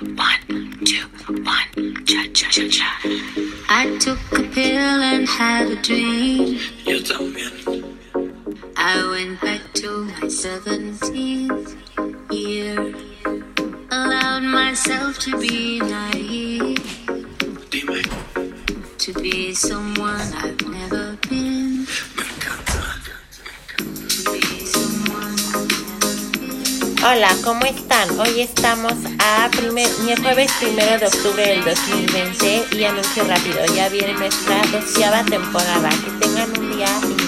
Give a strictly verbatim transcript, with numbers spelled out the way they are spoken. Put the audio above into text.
One, two, one, cha cha cha cha. I took a pill and had a dream. Yo también. I went back to my seventeenth year. Allowed myself to be naive. Dime. To be someone I've never been. Me encanta. To be someone I've never been. Hola, ¿cómo están? Hoy estamos a primer, jueves primero de octubre del dos mil veinte y anuncio rápido, ya viene nuestra doceava temporada. Que tengan un día